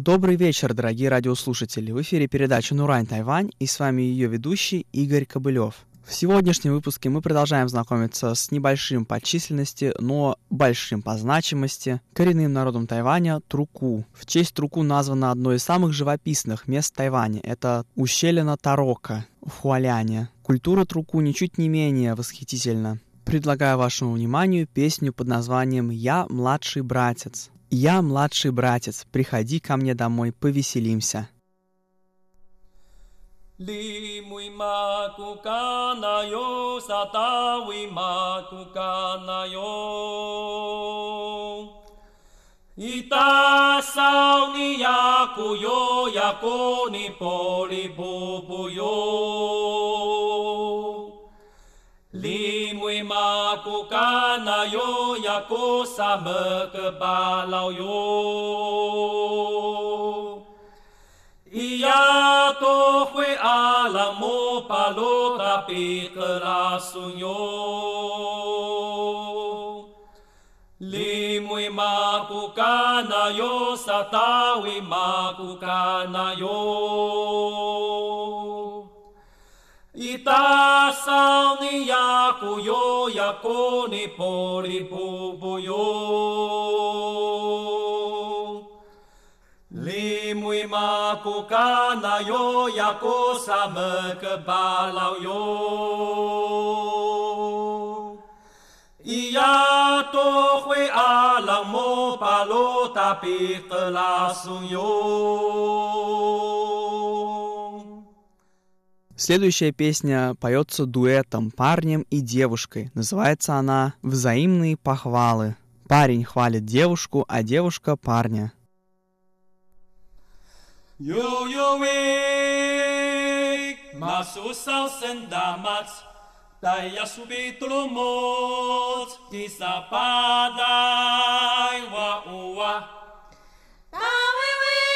Добрый вечер, дорогие радиослушатели! В эфире передача «Нурань Тайвань» и с вами ее ведущий Игорь Кобылев. В сегодняшнем выпуске мы продолжаем знакомиться с небольшим по численности, но большим по значимости коренным народом Тайваня Труку. В честь Труку названо одно из самых живописных мест Тайваня. Это ущелье Тарока в Хуаляне. Культура Труку ничуть не менее восхитительна. Предлагаю вашему вниманию песню под названием «Я младший братец». «Я младший братец, приходи ко мне домой, повеселимся». Li mui maku kana yo satawi maku kana yo Ita sao ni yaku yo yako ni poli bubu yo Li mui maku kana yo yako sama kebalau yo Ia to fue alamo palo tapi kerasunyo Limui maku kana yo satawi maku kana yo Ita sao ni yaku yo yako ni poli bubu yo Limui maku kana yo yako sama kebalau yo Ia to fue alang mo palo tapi kelasung yo Следующая песня поется дуэтом, парнем и девушкой. Называется она «Взаимные похвалы». Парень хвалит девушку, а девушка парня. Yo yo wik masusau sendamat Daya subitulu mot Kisa padai wa uwa Tawi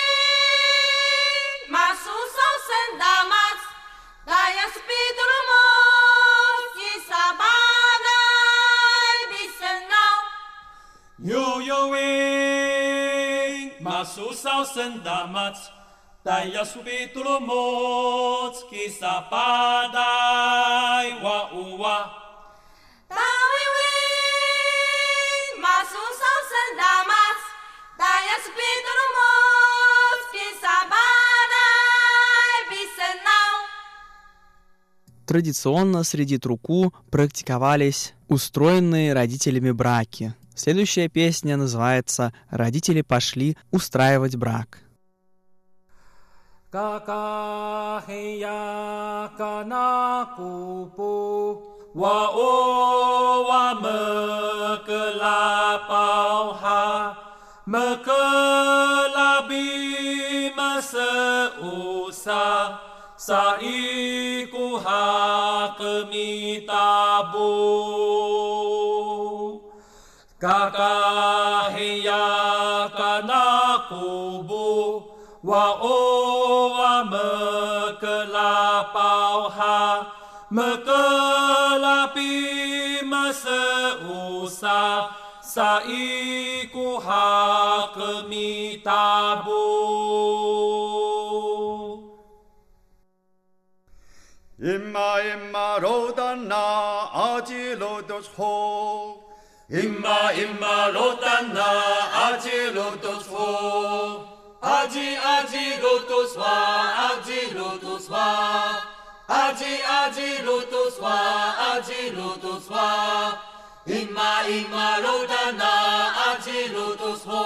wik masusau sendamat Daya subitulu mot Kisa padai bisenau Yo yo wik masusau sendamat Daya subitulu mot Kisa padai wa uwa Tawi wik masusau sendamat Daya subitulu mot Kisa padai bisenau Традиционно среди Труку практиковались устроенные родителями браки. Следующая песня называется «Родители пошли устраивать брак». Kakahiya kana kupu wa o wa mekelapau ha mekelabi maseusa saiku ha kemitabu Kakahiya kana kubu wa o wa mekelapau ha mekelapi maseusa saiku ha kemitabu Imma rodana ajilodos ho Imma rodana ajilodos ho Aji lotus wa aji lotus wa aji lotus wa aji lotus wa Imma rodana aji lotus ho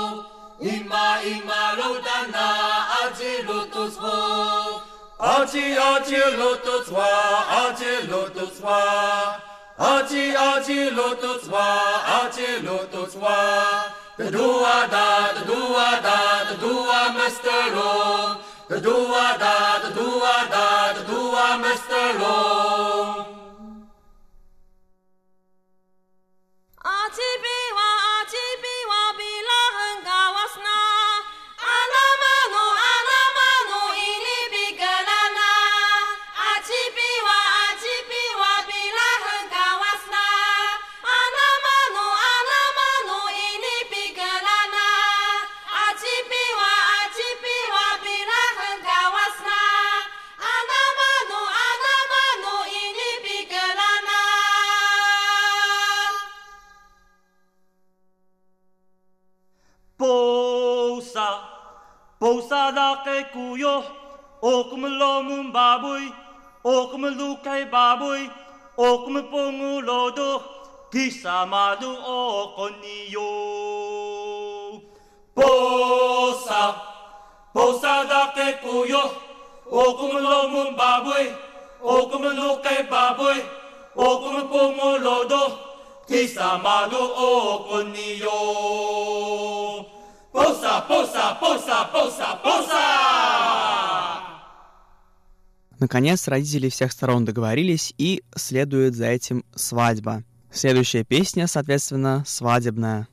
Imma rodana aji lotus ho Aji lotus wa aji lotus wa aji lotus wa aji lotus wa The dua Mr. Long. The dua Mr. Long. Ajibiwa bila hengkawasna Anamanu ini bigelana Ajibiwa bila hengkawasna Anamanu ini bigelana Ajibiwa Posada kay kuyo, o kumalomong baboy, o kumalukay baboy, o kumapungulodo, kisamado o koniyo. Posada kay kuyo, o kumalomong baboy, o kumalukay baboy, o kumapungulodo, kisamado o koniyo. Posa! Наконец, родители всех сторон договорились, и следует за этим свадьба. Следующая песня, соответственно, свадебная.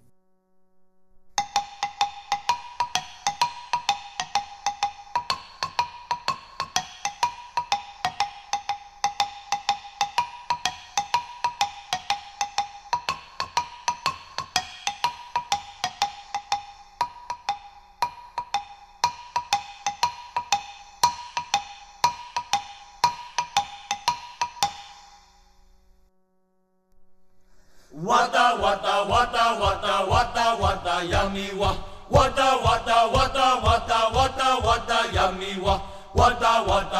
Wata yummy wa. Wata yummy wa. Wata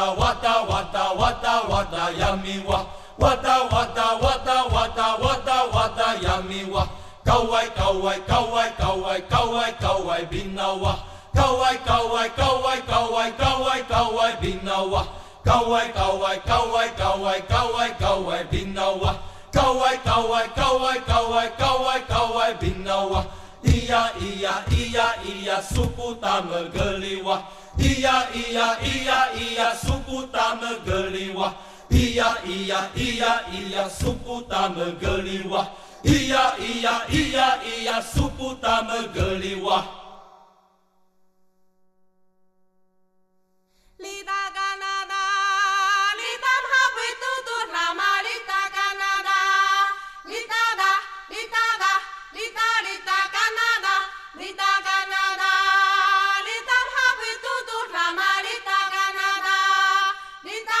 yummy wa. Wata yummy wa. Kawai binawa. Kawai binawa. Kawai binawa. Kawai binawa. Iya suku tamageliwa. Iya suku tamageliwa. Iya suku tamageliwa. Iya suku tamageliwa. Lita Canada, lita happy tutu rama lita Canada, lita Canada, lita Canada, lita happy tutu rama lita Canada, lita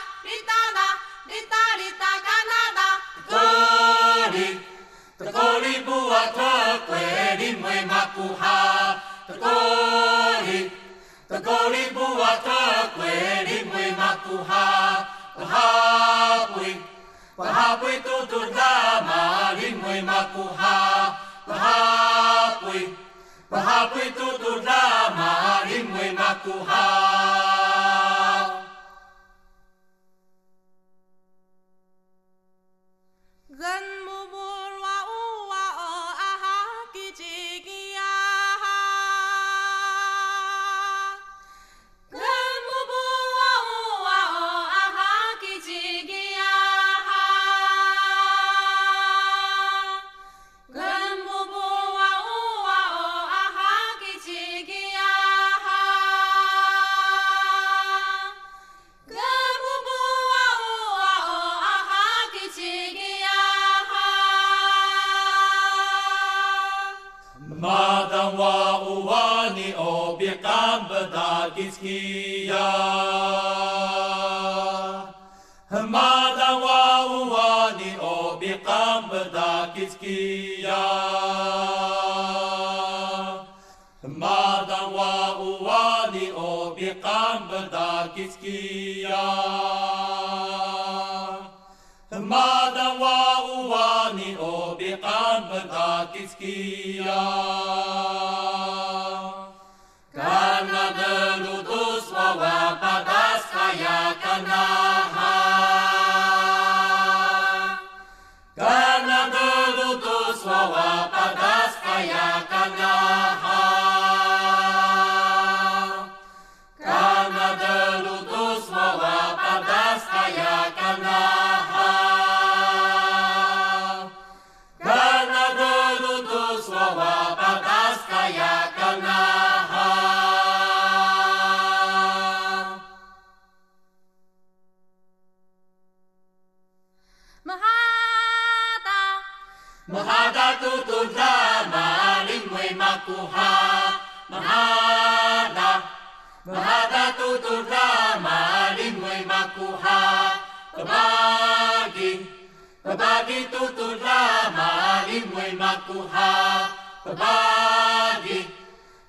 Canada. Tekori buat di mui makuha. Tekori buat di mui makuha. Pahapui tutur lama di mui makuha. Pahapui tutur lama di mui makuha. Gan mubul wa uwa o aha kijigia. Gan mubul wa uwa o aha kijigia. Gan mubul wa uwa o aha kijigia. Gan mubul wa uwa o aha kijigia. Madang wa uwani obiekam bedakiskia. Madang wa uwani obiekam bedakiskia. Madang wa uwani obiekam bedakiskia. Madang wa uwani obiekam bedakiskia. Karena delutus wawa padas kaya kanaha. Karena delutus wawa padas kaya kanaha. Karena delutus wawa padas kaya kanaha. Karena delutus wawa padas kaya kanaha. Mahada tutur drama limwe makuha. Mahada tutur drama limwe makuha. Pabagi tutur drama limwe makuha. Pabagi